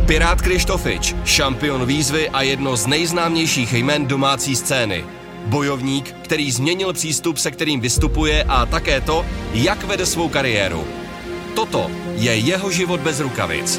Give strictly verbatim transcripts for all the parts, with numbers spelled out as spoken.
Pirát Krištofič, šampion výzvy a jedno z nejznámějších jmen domácí scény. Bojovník, který změnil přístup, se kterým vystupuje, a také to, jak vede svou kariéru. Toto je jeho život bez rukavic.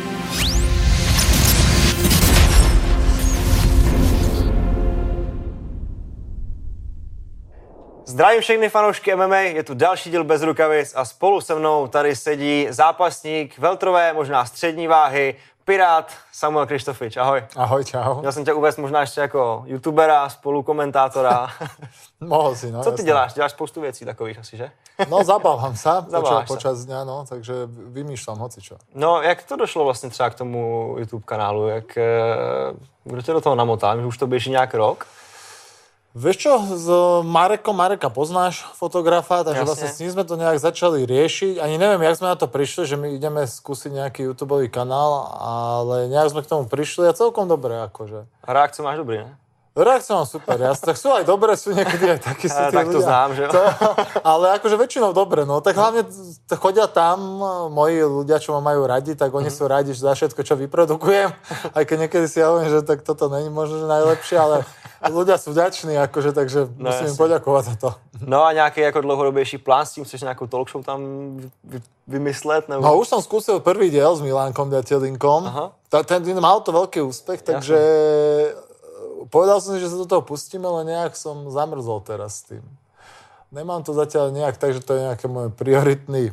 Zdravím všechny fanoušky M M A, je tu další díl bez rukavic a spolu se mnou tady sedí zápasník welterové, možná střední váhy, Pirát Samuel Krištofič. Ahoj. Ahoj, čau. Měl jsem tě uvést možná ještě jako youtubera, spolukomentátora. Mohl si, no. Co ty jasný. děláš? Děláš spoustu věcí takových asi, že? No, zabávam sa Zabáváš počas, počas dňa, no, takže vymýšľam hocičo. No, jak to došlo vlastně třeba k tomu YouTube kanálu? Jak, kdo tě do toho namotal? Už to běží nějak rok? Vieš čo, s Marekom, Mareka poznáš, fotografa, takže Jasne. vlastne s ním sme to nejak začali riešiť. Ani neviem, jak sme na to prišli, že my ideme skúsiť nejaký YouTubeový kanál, ale nejak sme k tomu prišli a celkom dobre, akože. A reakce máš dobrý, ne? Reakcie mám super, jasne. Tak sú aj dobré, sú niekedy aj takí sú tí Tak to ľudia. znám, že jo? To, ale akože väčšinou dobre, no. Tak hlavne t- chodia tam moji ľudia, čo ma majú radi, tak oni mm. sú radi za všetko, čo vyprodukujem. Aj keď niekedy si ja hovorím, že tak toto není možno že najlepšie, ale ľudia sú vďační, akože, takže no, musím jasne. im poďakovať za to. No a nějaký jako dlouhodobější plán s tím, chceš nějakou talk show tam vy, vymyslet? Nebo... No už som skúsil prvý diel s Milánkom Ďatelinkom. Ta, ten mal to veľký úspech, takže jasne. Povedal som si, že sa do toho pustíme, ale nejak som zamrzol teraz s tým. Nemám to zatiaľ nejak tak, že to je nejaký môj prioritný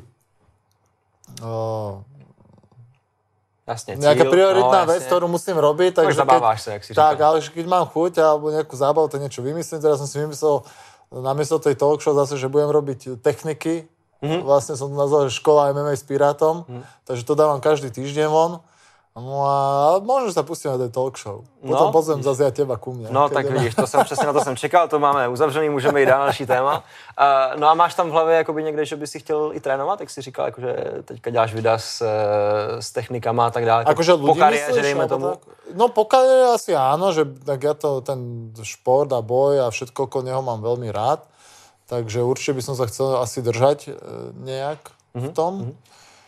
o, jasne, cíl, nejaká prioritná no, vec, ktorú musím robiť. Takže zabáváš sa, jak si tak, říkal. ale keď mám chuť alebo nejakú zábavu, tak niečo vymyslím. Teraz som si vymyslel namiesto tej talk show zase, že budem robiť techniky. Mm-hmm. Vlastne som to nazval, že škola M M A s Pirátom. Mm. Takže to dávam každý týždeň von. No a možno sa pustíme na ten talk show. Potom no, pozvem zase ja teba ku mne. No tak vidíš, to jsem přesně na to jsem čekal, to máme uzavřený, můžeme jít dál na další téma. Uh, no a máš tam v hlavě jakoby někde, že by si chtěl i trénovat, jak jsi říkal, jakože teďka děláš videa s, s technikama a tak dále. Akože po kariéře, dejme tomu. Tak? No po kariére asi áno, že tak ja to, ten šport a boj a všetko okolo neho mám veľmi rád. Takže určite by som sa chcel asi držať nejak mm-hmm. v tom. Mm-hmm.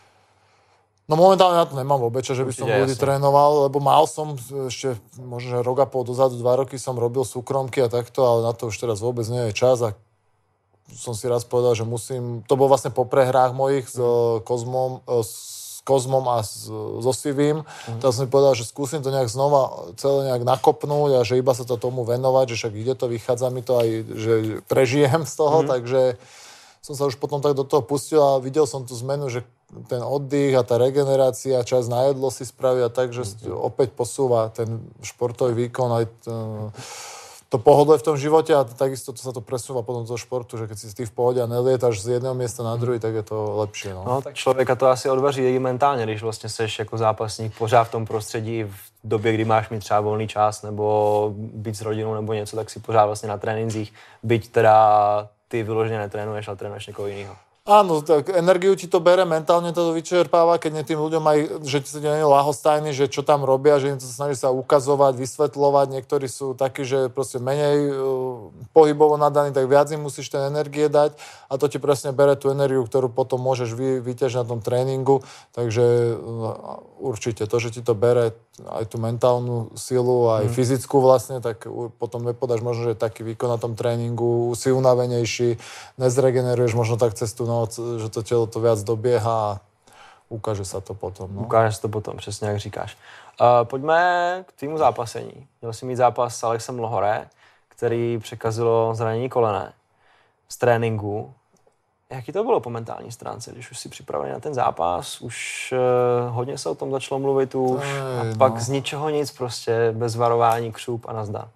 No momentálne na to nemám vôbec, že by som ľudí trénoval, lebo mal som ešte možno, že rok a pol dozadu, dva roky som robil súkromky a takto, ale na to už teraz vôbec nie je čas a som si raz povedal, že musím, to bolo vlastne po prehrách mojich s Kozmom, s Kozmom a s, so Sivým, mm. tak som si povedal, že skúsim to nejak znova celé nejak nakopnúť a že iba sa to tomu venovať, že však ide to, vychádza mi to aj, že prežijem z toho, mm. takže som sa už potom tak do toho pustil a videl som tú zmenu, že ten oddych a tá regenerácia, čas na jedlo si spravia tak, že opäť posúva ten športový výkon aj to, to pohodlie v tom živote a takisto to sa to presúva potom do športu, že keď si ty v pohode a nelietaš z jedného miesta na druhý, tak je to lepšie. No, no tak člověka to asi odvaří i mentálně, když vlastně seš jako zápasník pořád v tom prostředí v době, kdy máš mít třeba volný čas nebo být s rodinou nebo něco, tak si pořád vlastně na tréninzích, byť teda ty vyloženě netrénuješ, ale trénuješ někoho jiného. Áno, tak energiu ti to bere, mentálne to vyčerpáva, keď nie tým ľuďom aj, že ti sa nie je ľahostajný, že čo tam robia, že im to snaží sa ukazovať, vysvetľovať. Niektorí sú takí, že proste menej uh, pohybovo nadaní, tak viac im musíš ten energie dať a to ti presne bere tú energiu, ktorú potom môžeš vy, vyťažiť na tom tréningu. Takže uh, určite to, že ti to bere aj tú mentálnu silu, aj mm. fyzickú vlastne, tak potom nepodáš možno, že taký výkon na tom tréningu, si unavenejší, nezregeneruješ možno tak cez tú noc, že to telo to viac dobieha a ukáže sa to potom. No. Ukáže se to potom, přesně jak říkáš. Uh, pojďme k týmu zápasení. Měl jsi mít zápas s Alexem Lohore, který překazilo zranění kolene z tréninku. Jaký to bylo po mentální stránce, když už si připravený na ten zápas, už uh, hodně se o tom začalo mluvit už Ej, a pak no. z ničeho nic prostě, bez varování, křup a nazdar.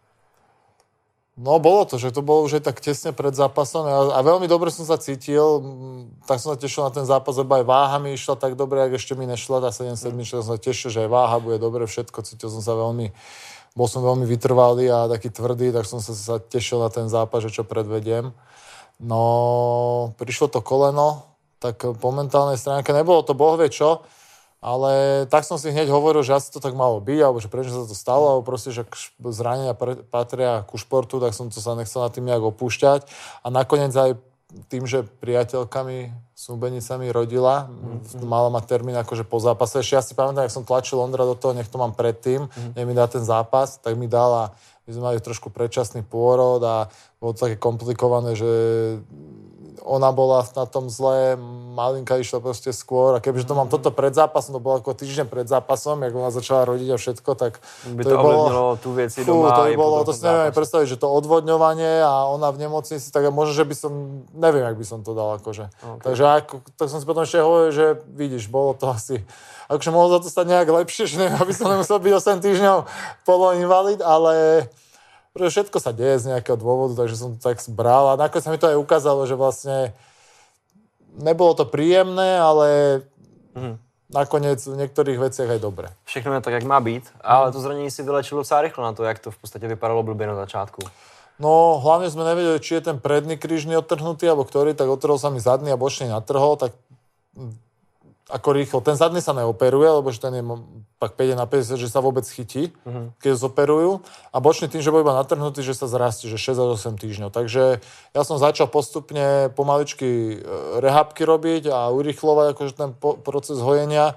No bolo to, že to bolo už aj tak tesne pred zápasom a, a veľmi dobre som sa cítil, tak som sa tešil na ten zápas, lebo aj váha mi išla tak dobre, jak ešte mi nešla tá sedem sedem, mm. som sa tešil, že aj váha bude dobre, všetko, cítil som sa veľmi, bol som veľmi vytrvalý a taký tvrdý, tak som sa, sa tešil na ten zápas, že čo predvediem. No, prišlo to koleno, tak po mentálnej stránke nebolo to boh vie čo, ale tak som si hneď hovoril, že asi to tak malo byť, alebo že prečo sa to stalo, alebo proste, že zranenia patria ku športu, tak som to sa nechcel na tým nejak opúšťať. A nakoniec aj tým, že priateľkami, snúbenicami rodila, mm-hmm. mala mať termín akože po zápase. Ešte ja si pamätám, jak som tlačil Ondra do toho, nech to mám predtým, mm-hmm. nech mi dá ten zápas, tak mi dala, my sme mali trošku predčasný pôrod a bolo to také komplikované, že ona bola na tom zle, malinka išla proste skôr a kebyže to mám toto pred zápasom, to bolo ako týždeň pred zápasom, jak ona začala rodiť a všetko, tak by to, to ovlivnilo tú veci fú, doma. To by bolo, to si neviem predstaviť, že to odvodňovanie a ona v nemocnici, tak možno, že by som, neviem, jak by som to dal akože. Okay. Takže ako, tak som si potom ešte hovoril, že vidíš, bolo to asi, akože mohlo za to stať nejak lepšie, že neviem, aby som nemusel byť osem týždňov poloinvalid, ale pretože všetko sa deje z nejakého dôvodu, takže som to tak bral a nakoniec sa mi to aj ukázalo, že vlastne nebolo to príjemné, ale mm. nakoniec v niektorých veciach aj dobre. Všechno je tak, jak má být, ale to zranění si vylečilo docela rychlo na to, jak to v podstatě vypadalo blbě na začátku. No, hlavne sme nevedeli, či je ten predný krížny odtrhnutý, alebo ktorý, tak odtrhol sa mi zadný a bočný natrhol, tak ako rýchlo. Ten zadný sa neoperuje, lebo že ten je pak päť na päťdesiat, že sa vôbec chytí, uh-huh. keď zoperujú. A bočný tým, že bol iba natrhnutý, že sa zrastie, že šesť až osem týždňov. Takže ja som začal postupne pomaličky rehabky robiť a urýchlovať akože ten po- proces hojenia.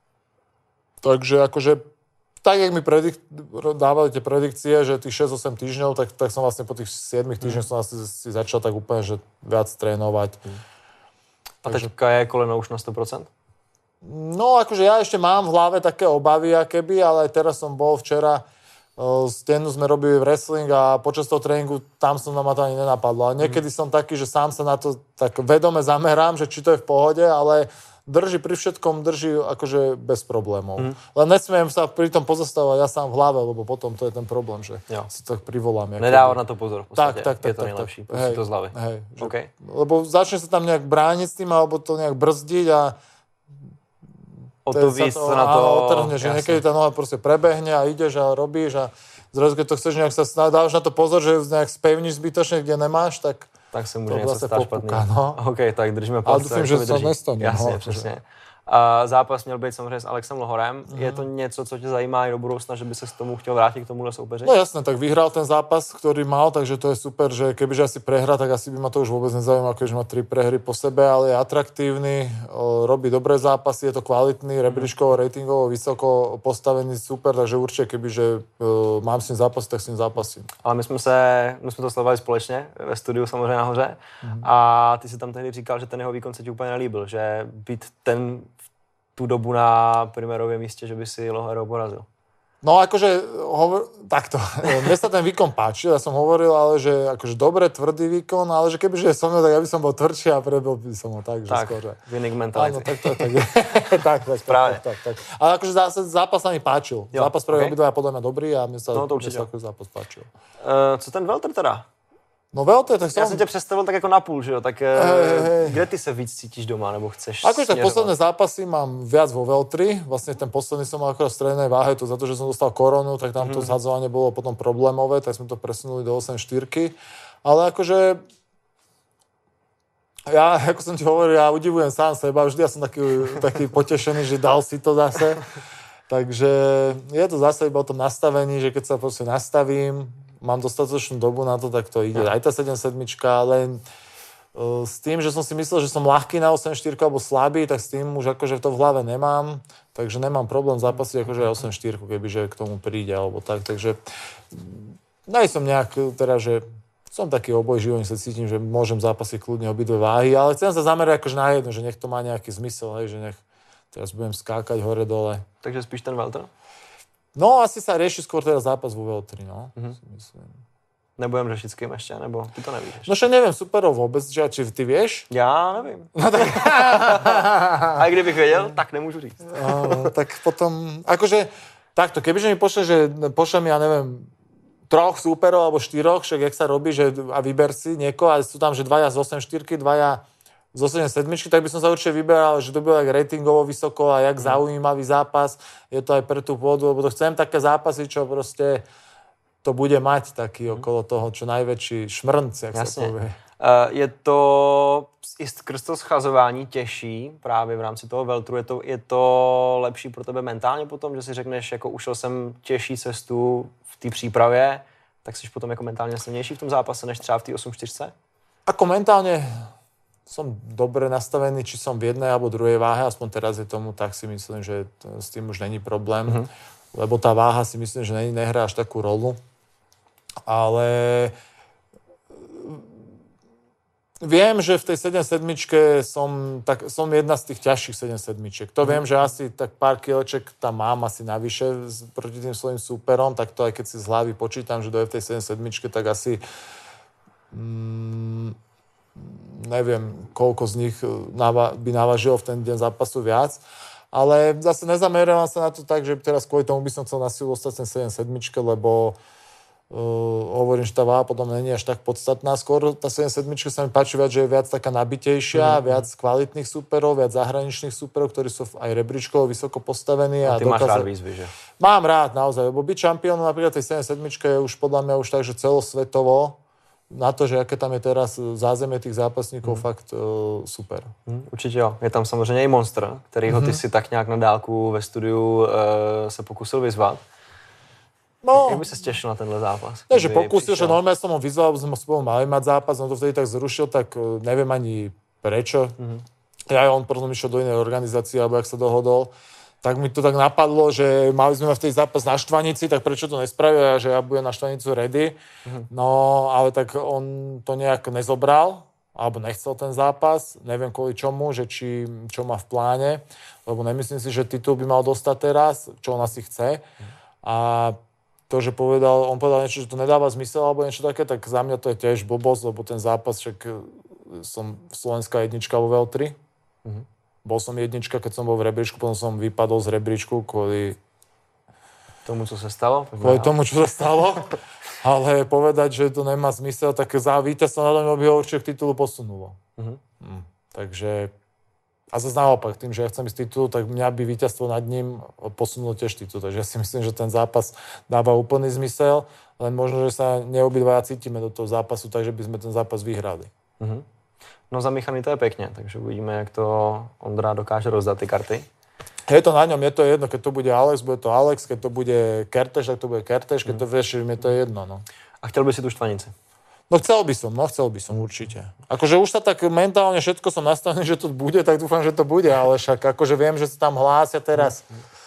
Takže akože tak, jak mi predik- dávali tie predikcie, že tých šesť osem týždňov, tak, tak som vlastne po tých siedmich týždňoch uh-huh. som asi si začal tak úplne, že viac trénovať. Uh-huh. A Takže... teďka je koleno už na sto procent? No, akože ja ešte mám v hlave také obavy, akéby, ale aj teraz som bol včera, stenu sme robili wrestling a počas toho tréningu tam som na ma to ani nenapadlo. A niekedy mm. som taký, že sám sa na to tak vedome zamerám, že či to je v pohode, ale drží pri všetkom, drží akože bez problémov. Mm. Len nesmiem sa pri tom pozastavovať ja sám v hlave, lebo potom to je ten problém, že jo. si to privolám. Nedávať na to pozor v podstate. Tak, tak, tak. Je to tak, najlepší, tak, hej, to z hlavy. Hej, že, okay. Lebo začne sa tam nejak brániť s tým, alebo to nejak brzdiť a o to víc sa na to... Otrhne, že niekedy tá noha proste prebehne a ideš a robíš a zrazu, keď to chceš nejak sa dáš na to pozor, že nejak spevníš zbytočne, kde nemáš, tak tak sa môže niečo stať špatný. No. OK, tak držíme palce. Ale dúfam, že sa nestane. Jasně, no, přesně. A zápas měl být samozřejmě s Alexem Lohorem. Mm. Je to něco, co tě zajímá i do budoucna, že by se k tomu chtěl vrátit k tomuhle soupeři? No jasné, tak vyhral ten zápas, ktorý mal, takže to je super, že kebyže asi prehrá, tak asi by ma to už vôbec nezaujímalo, keďže má tri prehry po sebe, ale je atraktívny, robí dobré zápasy, je to kvalitný, rebríčkovo, ratingovo, vysoko postavený, super, takže určite kebyže uh, mám s ním zápas, tak s ním zápasím. Ale my jsme se, my jsme to sledovali společně ve studiu samozřejmě nahoře mm. a ty si tam tehdy říkal, že ten jeho výkon se ti úplně nelíbil, že být ten tú dobu na primérovém místě, že by si Lohorov porazil. No akože, hovor, takto, mne sa ten výkon páčil, ja som hovoril, ale že akože dobre, tvrdý výkon, ale že kebyže je so mnou, tak ja by som bol tvrdší a prebil by som ho tak, že tak, skôr. Tak, winning mentality. Áno, tak, tak, tak, tak, tak, tak, tak, tak. Ale akože zase zápas sa mi páčil. Jo, zápas pre okay. obidva je podľa mňa dobrý a mne sa, no, mne sa akože zápas páčil. Uh, co ten welter teda? No veľké, tak som... Ja som ťa predstavil tak ako napůl, že jo? Tak hey, hey. Kde ty sa víc cítiš doma, nebo chceš akože tak posledné zápasy mám viac vo weltri. Vlastne ten posledný som mal akorát v strednej váhe, to za to, že som dostal koronu, tak tam mm-hmm. to zhadzovanie bolo potom problémové, tak sme to presunuli do osem štyri. Ale akože... Ja, ako som ti hovoril, ja udivujem sám seba. Vždy ja som taký, taký potešený, že dal si to zase. Takže je to zase iba o tom nastavení, že keď sa proste nastavím, mám dostatočnú dobu na to, tak to ide. Aj tá sedem sedem, len uh, s tým, že som si myslel, že som ľahký na osem štyri alebo slabý, tak s tým už akože to v hlave nemám, takže nemám problém zápasiť akože aj osem štyri, kebyže k tomu príde alebo tak, takže nej som nejak, teda, že som taký obojživý, sa cítim, že môžem zápasiť kľudne obidve váhy, ale chcem sa zamerať akože na jedno, že nech to má nejaký zmysel, hej, že nech teraz budem skákať hore-dole. Takže spíš ten welter? No, asi sa rieši skôr teda zápas vo weltri, no. Mm-hmm. Nebudem řešit s kým ještě, nebo ty to nevíš? No, že neviem superov vôbec, že či ty vieš? Já nevím. No, tak... A kdybych věděl, tak nemůžu říct. No, tak potom, akože, takto, kebyže mi pošle, že pošle mi, ja neviem, troch súperov alebo štyroch, však jak sa robí, že a vyber si niekoho, a sú tam, že dvaja z osem štyri, dvaja z osem sedem, tak by som sa určite vyberal, že to bylo jak ratingovo vysoko a jak mm. zaujímavý zápas. Je to aj pre tú pôdu, lebo to chcem také zápasy, čo proste to bude mať taký mm. okolo toho, čo najväčší šmrnc, jak Jasne. sa povie. Uh, je to i skrz to schazování těžší právě v rámci toho weltru. Je to, je to lepší pro tebe mentálně potom, že si řekneš, jako ušel jsem těžší cestu v té přípravě, tak jsi potom jako mentálně silnější v tom zápase, než třeba v té osm čtyři? Ako mentálne som dobre nastavený, či som v jednej alebo druhej váhe, aspoň teraz je tomu, tak si myslím, že t- s tým už není problém, mm-hmm. lebo tá váha si myslím, že ne, nehrá až takú rolu. Ale viem, že v tej sedem sedmičke som, tak, som jedna z tých ťažších sedem sedmičiek. To mm-hmm. viem, že asi tak pár kileček tam mám asi navyše proti tým svojim súperom, tak to aj keď si z hlavy počítam, že doje v tej sedem sedmičke, tak asi mm, neviem, koľko z nich by navažilo v ten deň zápasu viac. Ale zase nezameriavam sa na to tak, že teraz kvôli tomu by som chcel na silu ostať ten sedem sedmičke, lebo uh, hovorím, že tá váha potom nie je až tak podstatná. Skôr tá sedem sedmička sa mi páči viac, že je viac taká nabitejšia, mm. viac kvalitných súperov, viac zahraničných súperov, ktorí sú aj rebríčkovo vysoko postavení. A ty a máš dokáza... rád výzvy, že? Mám rád, naozaj, lebo byť šampiónom napríklad tej sedem sedmičke je už podľa mňa už tak, že celosvetovo na to, že aké tam je teraz zázemie těch zápasníků, mm. fakt uh, super. Mm, určitě jo. Je tam samozřejmě i Monster, kterýho ty si tak nějak na dálku ve studiu uh, se pokusil vyzvat. No, jak by se těšil na tenhle zápas? Ne, že pokusil, že normálně jsem ho vyzval, aby jsme spolu mali mať zápas, on to vtedy tak zrušil, tak uh, nevím ani prečo. Mm. Ja on potom išiel do inej organizácie, alebo jak sa dohodol. Tak mi to tak napadlo, že mali sme v tej zápas na Štvanici, tak prečo to nespravil, že ja budem na Štvanicu ready. Mm-hmm. No, ale tak on to nejak nezobral, alebo nechcel ten zápas. Neviem kvôli čomu, že či, čo má v pláne, lebo nemyslím si, že titul by mal dostať teraz, čo on asi chce. Mm-hmm. A to, že povedal, on povedal niečo, že to nedáva zmysel, alebo niečo také, tak za mňa to je tiež blbosť, lebo ten zápas, však som slovenská jednička vo vé el tri. Mm-hmm. Bol som jednička, keď som bol v rebríčku, potom som vypadol z rebríčku kvôli tomu, co sa stalo? Kvôli tomu, čo sa stalo. Ale povedať, že to nemá zmysel, tak za víťazstvo na tom by ho určite k titulu posunulo. Uh-huh. Hm. Takže a zase naopak, tým, že ja chcem ísť titulu, tak mňa by víťazstvo nad ním posunulo tiež titul. Takže ja si myslím, že ten zápas dáva úplný zmysel, len možno, že sa neobidvaja cítime do toho zápasu, takže by sme ten zápas vyhrali. Uh-huh. No zamíchaný to je pekne, takže uvidíme, jak to Ondra dokáže rozdat ty karty. Je to na ňom, je to jedno, keď to bude Alex, bude to Alex, keď to bude Kertéš, tak to bude Kertéš, keď to vieš, mi to je jedno, no. A chtěl by si tu Štvanici? No chcel by som, no chcel by som určite. Akože už sa tak mentálne všetko som nastavený, že to bude, tak dúfam, že to bude, ale však akože viem, že sa tam hlásia teraz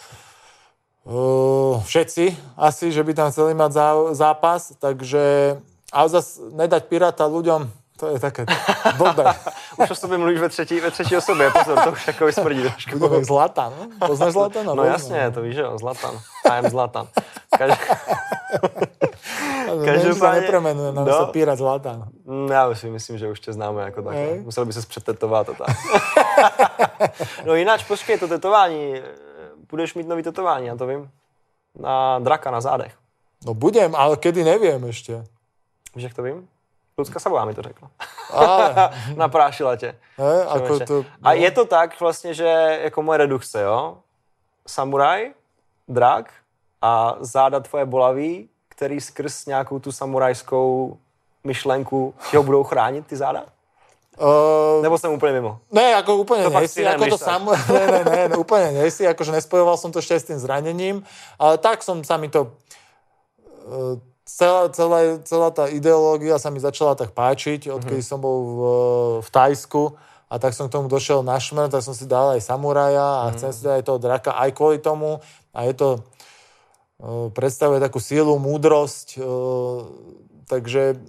uh, všetci asi, že by tam chceli mať zá, zápas, takže ale zase nedať Piráta ľuďom, to je také blbé. Už o sobě mluvíš ve třetí, ve třetí osobě, pozor, to už jako smrdí trošku. Budeme jak Zlatan, no? Poznáš Zlatana? No jasně, to víš, že jo, Zlatan. I am Zlatan. Každ... Každopádně... nepremenuje, nám no, se Pirát Zlatan. Já si myslím, že už tě známe jako takhle. Musel by ses přetetovat a tak. No jináč, počkej, to tetování, budeš mít nový tetování, já to vím, na draka na zádech. No budem, ale kedy nevím ještě. Víš, jak to vím? Lucka Sabová mi to řekla. Ale... Naprášila tě. E, ako to, no. A je to tak vlastně, že jako moje redukce, jo? Samuraj, drak a záda tvoje bolavý, který skrz nějakou tu samurajskou myšlenku ti ho budou chránit, ty záda? Uh, Nebo jsem úplně mimo? Ne, ako úplne to nejsi, ako to sam... ne, ne, ne, ne, úplne nejsi, akože nespojoval som to ešte aj s tým zranením, ale tak som sa mi to... Uh, Celá, celá, celá tá ideológia sa mi začala tak páčiť, odkedy mm-hmm. som bol v, v Thajsku a tak som k tomu došiel na šmer, tak som si dal aj samuraja a mm-hmm. chcem si dať aj toho draka aj kvôli tomu a je to uh, predstavuje takú sílu, múdrosť, uh, takže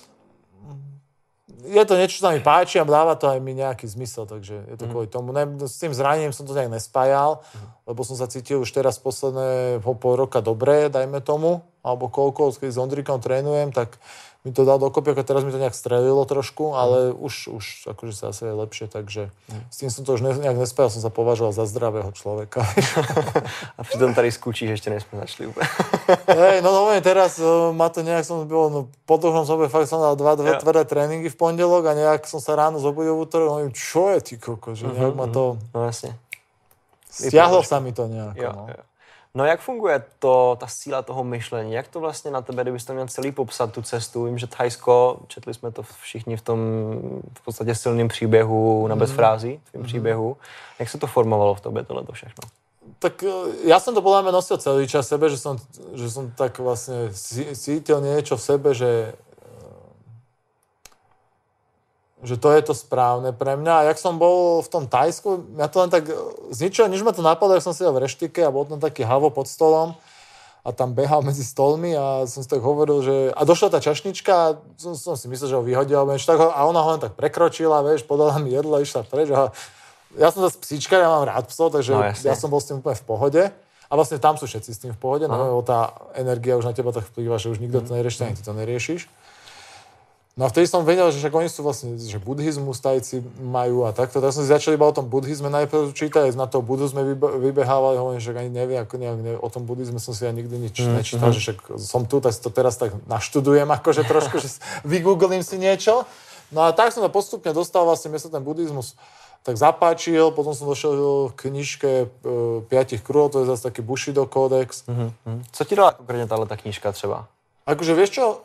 je to niečo, čo sa mi páči a dáva to aj mi nejaký zmysel, takže je to mm-hmm. kvôli tomu. Ne, s tým zranením som to nejak nespájal, mm-hmm. lebo som sa cítil už teraz posledné pol roka dobre, dajme tomu, alebo koľko, keď s Ondrikom trénujem, tak mi to dal dokopy, ako teraz mi to nejak strelilo trošku, ale mm. už, už akože sa asi je lepšie, takže mm. s tým som to už ne, nejak nespájal, som sa považoval za zdravého človeka. A přitom tady skúčíš, ešte nejsme začali úplne. Hej, no no, teraz uh, ma to nejak som bol, no po dlhom sobe fakt som dal dva, dva tvrdé tréningy v pondelok a nejak som sa ráno zobudil v útorok, no čo je ty koko, že nejak mm-hmm. ma to... No jasne. Stiahlo sa mi to nejako, jo, no. Jo. No jak funguje to, ta síla toho myšlení? Jak to vlastně na tebe, kdybyste měl celý popsat tu cestu? Vím, že Thajsko, četli jsme to všichni v tom v podstatě silným příběhu na bezfrází, v tom mm. příběhu. Jak se to formovalo v tobě tohleto všechno? Tak ja som to podľa mňa nosil celý čas sebe, že som, že som tak vlastne cítil niečo v sebe, že že to je to správne pre mňa. A jak som bol v tom Thajsku, ja to len tak z ničoho, než ma to napadlo, jak som sedel v reštike a bol tam taký havo pod stolom a tam behal medzi stolmi a som si tak hovoril, že... A došla tá čašnička a som, som si myslel, že ho vyhodil, a ona ho len tak prekročila, vieš, podala mi jedlo, išla preč. A ja som zase psíčka, ja mám rád psov, takže no, ja som bol s tým úplne v pohode. A vlastne tam sú všetci s tým v pohode, no tá energia už na teba tak vplýva, že už nikto to nerieši, ani ty to neriešiš. No a vtedy som vedel, že však oni sú vlastne, že buddhizmus Tajci majú a takto. Tak som si začal iba o tom buddhizme najprv čítať, na toho budhu sme vybehávali, hovorím, že ani neviem, ako nejak, neviem, o tom buddhizme som si ja nikdy nič mm, nečítal, mm. že však som tu, tak si to teraz tak naštudujem, akože trošku, že vygooglím si niečo. No a tak som to postupne dostal, vlastne mne sa ten buddhizmus tak zapáčil, potom som došiel k knižke e, piatich kruhov, to je zase taký Bushido kódex. Mm-hmm. Co ti dala konkrétne tá knižka třeba? Akože vieš čo?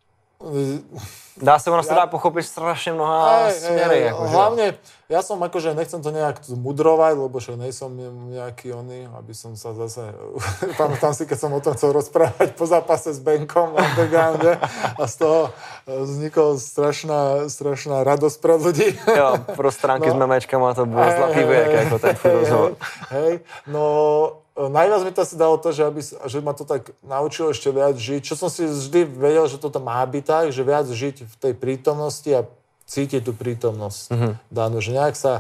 Dá sa, ono sa dá pochopiť strašne mnoha hey, smery. Hey, akože. Hlavne, ja som akože, nechcem to nejak mudrovať, lebo však nejsom nejaký oný, aby som sa zase, pamätám si, keď som o tom chcel rozprávať po zápase s Benkom na undergrounde a z toho vznikla strašná, strašná radosť pre ľudí. Jo, pro stránky no. s memečkama to bolo hey, zlatý hey, vek, hey, ako ten tvoj rozhovor. Hej, no... Najviac mi to asi dalo to, že, aby, že ma to tak naučilo ešte viac žiť. Čo som si vždy vedel, že toto má byť tak, že viac žiť v tej prítomnosti a cítiť tú prítomnosť. Mm-hmm. Danú, že nejak sa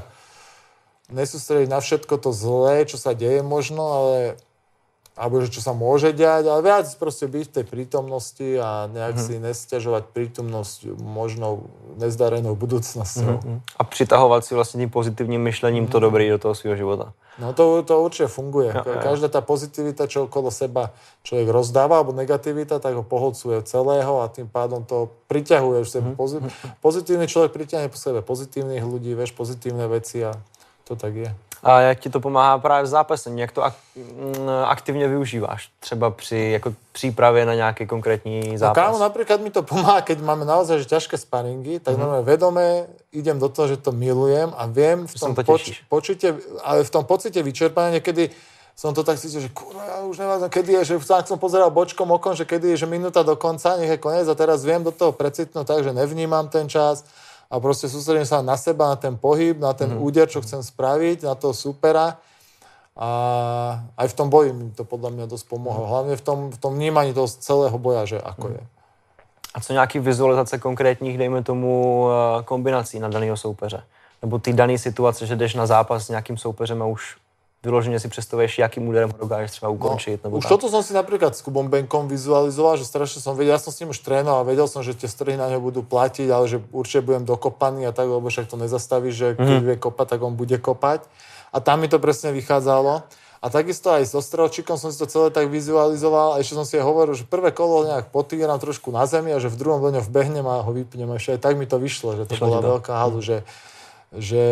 nesústrediť na všetko to zlé, čo sa deje možno, ale alebo že čo sa môže diať, ale viac proste byť v tej prítomnosti a nejak mm-hmm. si nesťažovať prítomnosť možnou nezdarenou budúcnosťou. Mm-hmm. A přitahovat si vlastně tím pozitivním myšlením mm-hmm. to dobré do toho svého života. No to, to určite funguje. Ja, ja. Každá tá pozitivita, čo okolo seba človek rozdáva, alebo negativita, tak ho poholcuje celého a tým pádom to priťahuje. Mm-hmm. Pozit- pozitívny človek priťahne po sebe pozitívnych ľudí, vieš, pozitívne veci a to tak je. A jak ti to pomáhá právě v zápasení? Jak to ak- aktivně využíváš? Třeba při jako přípravě na nějaký konkrétní zápas? No kámo, napríklad mi to pomáha, keď máme naozaj že ťažké sparingy, tak mm-hmm. vedome idem do toho, že to milujem a viem v tom, to poč- počite, ale v tom pocite vyčerpania niekedy som to tak cítil, že kurva, ja už neviem, kedy je, že tak som pozeral bočkom okom, že kedy je, že minúta do konca, nech je koniec a teraz viem do toho precitnúť tak, že nevnímam ten čas a proste sústredím sa na seba, na ten pohyb, na ten mm-hmm. úder, čo chcem spraviť, na toho supera. A aj v tom boji mi to podľa mňa dosť pomohlo. Hlavne v tom, v tom vnímaní toho celého boja, že ako mm. je. A co nějaký vizualizace konkrétních, dejme tomu, kombinací na daného soupeře? Nebo ty dané situace, že jdeš na zápas s nějakým soupeřem a už vyloženě si představuješ, jakým úderem ho dokážeš třeba ukončiť. No, nebo už tak. Toto som si napríklad s Kubom Benkom vizualizoval, že strašne som vedel, ja som s ním už trénoval a vedel som, že tie strhy na ňo budú platiť, ale že určite budem dokopaný a tak, lebo však to nezastavíš, že keď mm. vie kopať, tak on bude kopať. A tam mi to presne vychádzalo. A takisto aj s Ostrelčíkom som si to celé tak vizualizoval a ešte som si aj hovoril, že prvé kolo nejak potýram trošku na zemi a že v druhom do ňo vbehnem a ho vypnem. A ešte aj tak mi to vyšlo, že to vyšlo bola veľká halu, mm. že Že,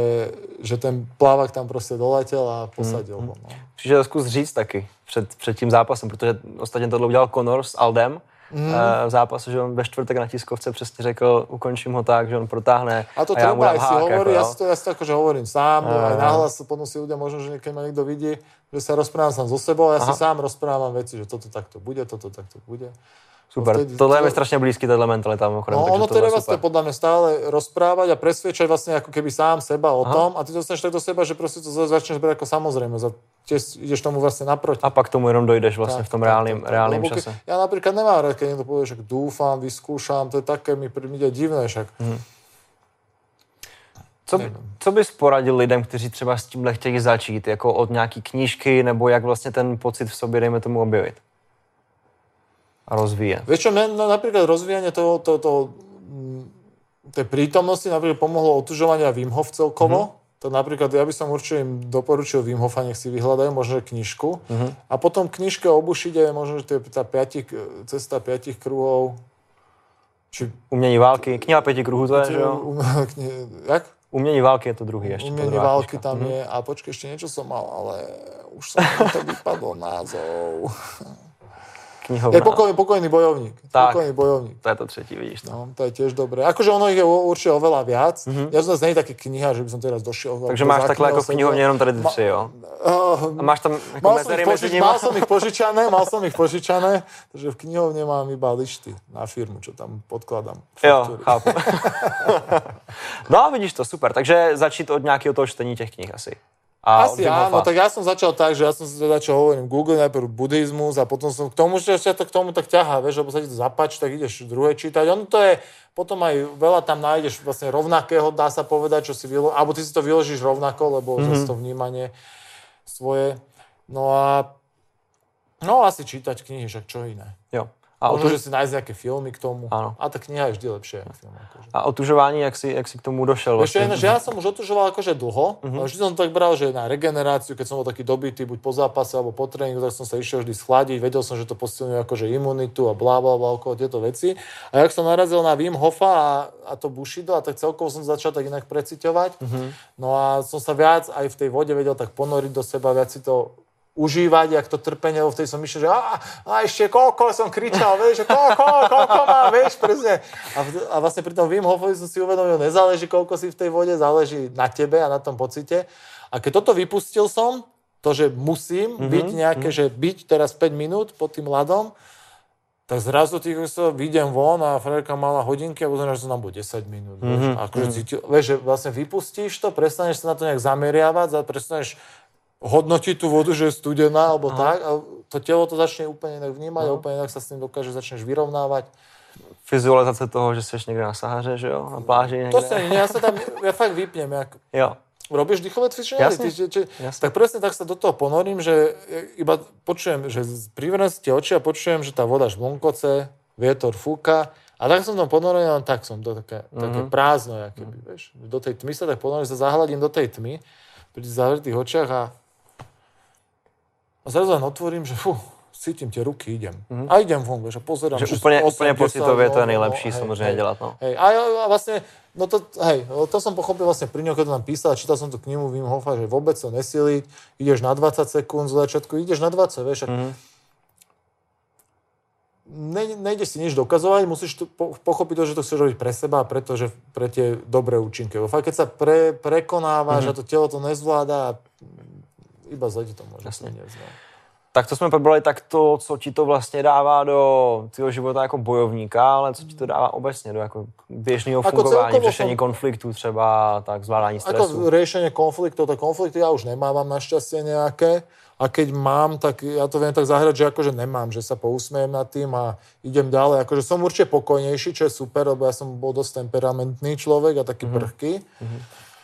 že ten plávak tam prostě doletěl a posadil ho. No. Příště zkus říct taky před, před tím zápasem, protože ostatně tohle udělal Conor s Aldem mm. v zápase, že on ve čtvrtek na tiskovce přesně řekl, ukončím ho tak, že on protáhne a, to a já mu dám hák. Hovorí, jako, ja si to, ja si to akože hovorím sám, a, aj nahlas, potom si ľudia, možno, že niekedy ma niekto vidí, že sa rozprávam sám so sebou a ja Aha. si sám rozprávam veci, že toto takto bude, toto takto bude. Super, vtedy, tohle je mi strašne blízky, tato mentalita. No ono to je vlastne podľa mňa stále rozprávať a presviečať vlastne ako keby sám seba o Aha. tom a ty to dostaneš tak do seba, že proste to začneš brať ako samozrejme. Tiež ideš tomu vlastne naproti. A pak tomu jenom dojdeš vlastne tak, v tom reálnym, tak, tak, reálnym tak, čase. Ja napríklad nemám rád, keď niekto povie, že dúfam, vyskúšam, to je také, mi príde divné však. Hmm. Co, co bys poradil lidem, kteří třeba s tímhle chtějí začít, jako od nějaký knížky, nebo jak vlastně ten pocit v sobě, dejme tomu, objevit? A rozvíjať. Vieš čo, mňa napríklad rozvíjanie toho, toho, toho, tej prítomnosti napríklad pomohlo otužovania Wim Hof celkovo. Mm-hmm. To napríklad, ja by som určite im doporučil Wim Hofa, nech si vyhľadajú, možno knižku. Mm-hmm. A potom knižke o Bushide, možno, že tá piatich, cesta piatich kruhov. Či... Umění války, kniha pěti kruhů to je, že jo? Um, kni... Jak? Umění války je to druhý ještě. Umění války tam mm-hmm. je. A počkej, ešte niečo som mal, ale už som to vypadol názov. Knihovna. Je pokojný, pokojný bojovník. Tak, pokojný bojovník. to je to třetí, vidíš to. No, to je tiež dobré. Akože ono ich je určite oveľa viac. Mhm. Ja som zase nie taký kniha, že by som teraz došiel. Takže máš takhle jako v knihovně jenom tady ty tři, jo? Uh, A máš tam jako mal, som mezery ich mezi požič, nimi? mal som ich požičané, mal som ich požičané, takže v knihovne mám iba lišty na firmu, čo tam podkladám. Jo, chápu. No, vidíš to, super. Takže začít od nějakého toho čtení těch knih asi. A Asi áno, tak ja som začal tak, že ja som si začal hovorím Google, najprv buddhizmus a potom som k tomu, že to k tomu tak ťahá, vieš, lebo sa ti to zapáči, tak ideš druhé čítať. Ono to je, potom aj veľa tam nájdeš vlastne rovnakého, dá sa povedať, čo si vylo... alebo ty si to vyložíš rovnako, lebo mm-hmm. zase to vnímanie svoje. No a no asi čítať knihy, však čo iné. Jo. A možno, otuž... že si nájsť nejaké filmy k tomu. Áno. A tá kniha je vždy lepšie. Film, akože. A otužování, jak si, jak si k tomu došel? Vlastne? Ešte, že ja som už otužoval akože dlho. Uh-huh. Vždy som to tak bral, že na regeneráciu, keď som bol taký dobitý, buď po zápase alebo po tréningu, tak som sa išiel vždy schladiť. Vedel som, že to posilňuje akože imunitu a blá, blá, blá, okolo tieto veci. A jak som narazil na Wim Hofa a, a to Bushido, a tak celkovo som začal tak inak preciťovať. Uh-huh. No a som sa viac aj v tej vode vedel tak ponoriť do seba, viac si to užívať, jak to trpenie, lebo vtedy som myslel, že a, a ešte koľko som kričal, vieš, že koľko, koľko mám, vieš, presne. A, a vlastne pri tom Wim Hofovi som si uvedomil, nezáleží, koľko si v tej vode, záleží na tebe a na tom pocite. A keď toto vypustil som, to, že musím mm-hmm. byť nejaké, mm-hmm. že byť teraz päť minút pod tým ľadom, tak zrazu tých sa vyjdem von a frajerka mala hodinky a pozrieš, že som tam bol desať minút. Mm-hmm. Vieš, akože cítil, vieš, že vlastne vypustíš to, prestaneš sa na to nejak zameriavať, prestaneš hodnotiť tú vodu, že je studená, alebo Aha. tak. A to telo to začne úplne inak vnímať Aha. a úplne inak sa s tým dokáže, začneš vyrovnávať. Vizualizace toho, že jsi někde na Sahaře, že jo? Na pláži někde. To sa nie, ja sa tam, ja fakt vypnem. Jak... Jo. Robíš dýchové cvičenie? Jasne, ty, či, jasne. Tak presne tak sa do toho ponorím, že iba počujem, že privrám si tie oči a počujem, že tá voda žblnkoce, vietor fúka. A tak som tam ponorený, len tak som, to také, mm-hmm. také prázdno, jakoby, vieš. Do tej tmy sa tak ponorím, sa zahľadím do tej tmy, pri zavretých očiach a A zrazu len otvorím, že fú, cítim tie ruky, idem. Mm-hmm. A idem von, vieš, a pozerám. Že úplne, úplne pocitově to je nejlepší no, samozřejmě hej, dělat, no. Hej, a, a vlastne, no to, hej, to som pochopil vlastne pri ňom, keď to tam písal, čítal som tú knihu Wim Hofa, že vôbec to nesiliť, ideš na dvadsať sekúnd z začiatku, ideš na dvadsať, vieš, mm-hmm. ne, nejdeš si nič dokazovať, musíš to po, pochopiť to, že to chceš robiť pre seba a preto, že pre tie dobré účinky. Fakt, keď sa pre, prekonávaš mm-hmm. a to telo to nezvláda, iba zle ti to môže priniesť. No. Tak to jsme probrali tak to, co ti to vlastně dává do tvého života jako bojovníka, ale co ti to dává obecně do jako běžného fungování, řešení som... konfliktů třeba, tak zvládání stresu. Ako riešenie konfliktov, tak konflikty ja už nemávam našťastie nejaké. A keď mám, tak ja to viem tak zahrať, že akože nemám, že sa pousmejem nad tým a idem ďalej. Akože som určite pokojnejší, čo je super, lebo ja som bol dosť temperamentný človek a taký mm-hmm. prchký. Mm-hmm.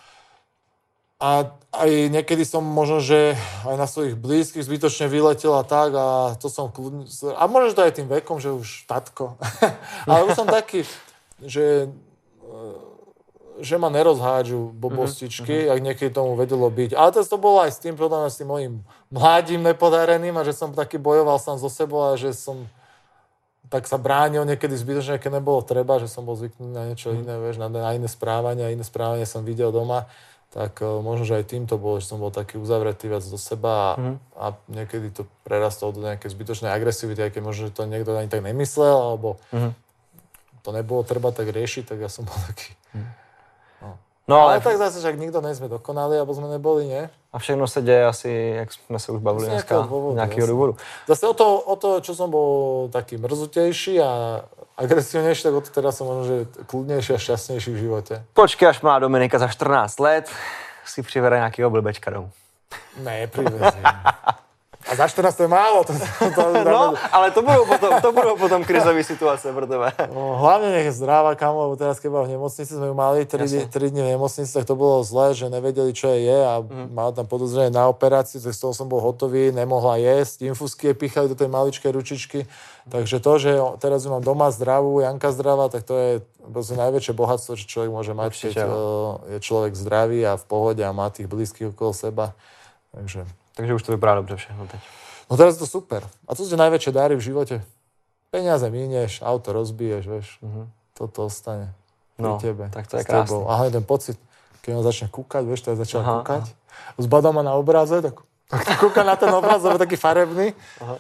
A aj niekedy som možno, že aj na svojich blízkych zbytočne vyletel a tak a to som kľudne... A možno, že to aj tým vekom, že už tatko. Ale už som taký, že, že ma nerozhádžu bobostičky, mm-hmm. ak niekedy tomu vedelo byť. Ale to, to bolo aj s tým, podľa mňa, s tým mojím mladým nepodareným a že som taký bojoval sám so sebou a že som tak sa bránil niekedy zbytočne, keď nebolo treba, že som bol zvyknutý na niečo mm-hmm. iné, vieš, na, na iné správanie a iné správanie som videl doma. Tak uh, možno, že aj tým to bolo, že som bol taký uzavretý viac do seba a, mm. a niekedy to prerastlo do nejakej zbytočnej agresivity, aj keď možno, že to niekto ani tak nemyslel, alebo mm. to nebolo treba tak riešiť, tak ja som bol taký... Mm. No. No, ale... ale tak zase, že ak nikto nejsme dokonali, alebo sme neboli, nie? A všechno se děje asi, jak jsme se už bavili dneska, z nějakého důvodu. Zase o to, o to, čo som bol taký mrzutejší a agresívnejší, tak o to teda som možno, že kľudnejší a šťastnejší v živote. Počkej, až má Dominika za štrnásť let, si přivede nějakého blbečka domů. Ne, privezím. A za štrnásť to je málo. To, to, to, no, ale to budou potom, to budou potom krizové situace pro tebe. No, hlavne nech je zdravá, kamo, lebo teraz keď bola v nemocnici, sme ju mali tri dni v nemocnici, tak to bolo zlé, že nevedeli, čo je a mm. mala tam podozrenie na operáciu, tak z toho som bol hotový, nemohla jesť, infúzky je pichali do tej maličkej ručičky. Takže to, že teraz ju mám doma zdravú, Janka zdravá, tak to je najväčšie bohatstvo, čo človek môže mať, keď je človek zdravý a v pohode a má tých blízkych okolo seba. Takže... Takže už to vypadá dobře všechno teď. No teraz je to super. A co sú najväčšie dáry v živote? Peniaze minieš, auto rozbiješ, vieš. Uh-huh. Toto ostane pri no, tebe. Tak to je krásne. A hlavne ten pocit, keď on začne kúkať, vieš, to je začal kúkať. Zbadá ma na obraze, tak, tak kúka na ten obraz, lebo taký farebný. Aha.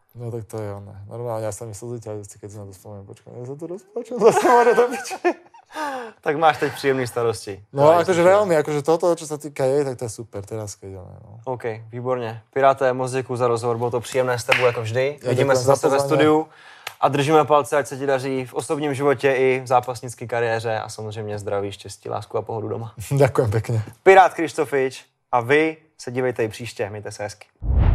No tak to je ono. Normálne, ja sa mi slzy ťahajú, keď si na to spomeniem. Počkaj, ja sa tu rozplačem, zase môže to byť. Tak máš teď příjemné starosti. No akože veľmi, akože toto, čo sa týka jej, tak to je super, teraz keď ono. No. OK, výborně. Piráté, moc děkuju za rozhovor, bylo to příjemné s tebou jako vždy. Ja Vidíme se zase ve pozvanie. studiu a držíme palce, ať se ti daří v osobním životě i v zápasnické kariéře a samozřejmě zdraví, štěstí, lásku a pohodu doma. Ďakujem pekne. Pirát Krištofič a vy se dívejte i příště, mějte se hezky.